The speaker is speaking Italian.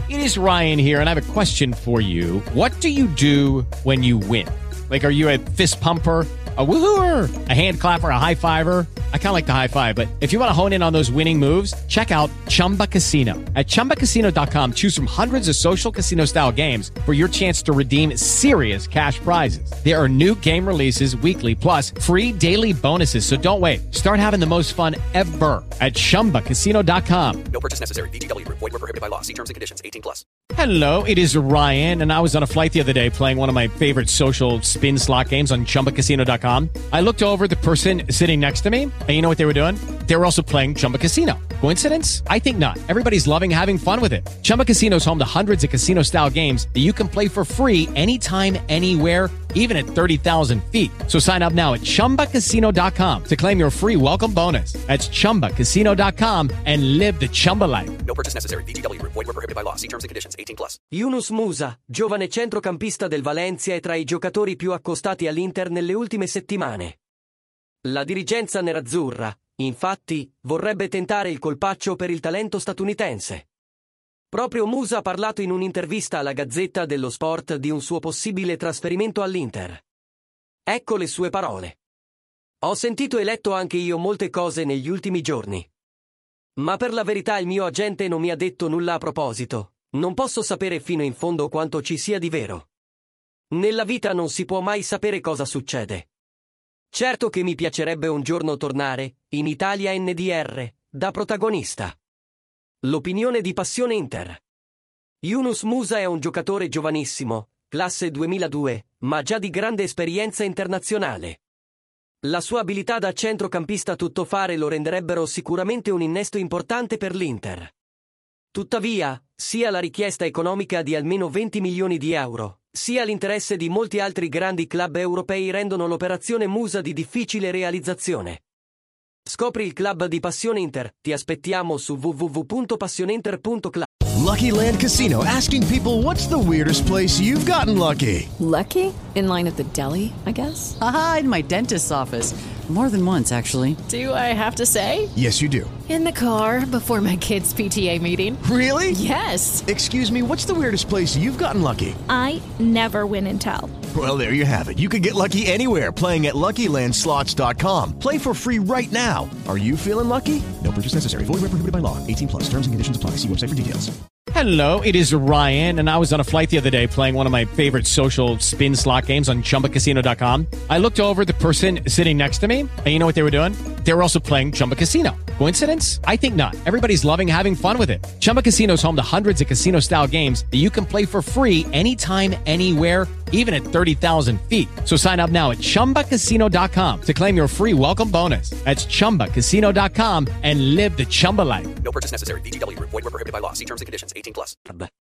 It is Ryan here, and I have a question for you. What do you do when you win? Like, are you a fist pumper, a woohooer, a hand clapper, a high fiver? I kind of like the high five, but if you want to hone in on those winning moves, check out Chumba Casino. At ChumbaCasino.com, choose from hundreds of social casino style games for your chance to redeem serious cash prizes. There are new game releases weekly, plus free daily bonuses. So don't wait. Start having the most fun ever at ChumbaCasino.com. No purchase necessary. VGW Group. Void where prohibited by law. See terms and conditions. 18+. Hello, it is Ryan, and I was on a flight the other day playing one of my favorite social spin slot games on ChumbaCasino.com. I looked over at the person sitting next to me, and you know what they were doing? They were also playing Chumba Casino. Coincidence? I think not. Everybody's loving having fun with it. Chumba Casino is home to hundreds of casino-style games that you can play for free anytime, anywhere, even at 30,000 feet. So sign up now at ChumbaCasino.com to claim your free welcome bonus. That's ChumbaCasino.com and live the Chumba life. No purchase necessary. VGW Group. Void where prohibited by law. See terms and conditions. 18+. Yunus Musa, giovane centrocampista del Valencia, è tra i giocatori più accostati all'Inter nelle ultime settimane. La dirigenza nerazzurra, infatti, vorrebbe tentare il colpaccio per il talento statunitense. Proprio Musa ha parlato in un'intervista alla Gazzetta dello Sport di un suo possibile trasferimento all'Inter. Ecco le sue parole. Ho sentito e letto anche io molte cose negli ultimi giorni. Ma per la verità il mio agente non mi ha detto nulla a proposito. Non posso sapere fino in fondo quanto ci sia di vero. Nella vita non si può mai sapere cosa succede. Certo che mi piacerebbe un giorno tornare, in Italia NDR, da protagonista. L'opinione di Passione Inter. Yunus Musa è un giocatore giovanissimo, classe 2002, ma già di grande esperienza internazionale. La sua abilità da centrocampista tuttofare lo renderebbero sicuramente un innesto importante per l'Inter. Tuttavia, sia la richiesta economica di almeno 20 milioni di euro, sia l'interesse di molti altri grandi club europei rendono l'operazione Musa di difficile realizzazione. Scopri il club di Passione Inter. Ti aspettiamo su www.passioneinter.club. Lucky Land Casino, asking people, what's the weirdest place you've gotten lucky? Lucky? In line at the deli, I guess? Aha, in my dentist's office. More than once, actually. Do I have to say? Yes, you do. In the car before my kids' PTA meeting. Really? Yes. Excuse me, what's the weirdest place you've gotten lucky? I never win and tell. Well, there you have it. You can get lucky anywhere, playing at LuckyLandSlots.com. Play for free right now. Are you feeling lucky? No purchase necessary. Void where prohibited by law. 18+. Terms and conditions apply. See website for details. Hello, it is Ryan, and I was on a flight the other day playing one of my favorite social spin slot games on ChumbaCasino.com. I looked over at the person sitting next to me, and you know what they were doing? They were also playing Chumba Casino. Coincidence? I think not. Everybody's loving having fun with it. Chumba Casino is home to hundreds of casino-style games that you can play for free anytime, anywhere, even at 30,000 feet. So sign up now at ChumbaCasino.com to claim your free welcome bonus. That's ChumbaCasino.com and live the Chumba life. No purchase necessary. VGW Group. Void where prohibited by law. See terms and conditions. 18+.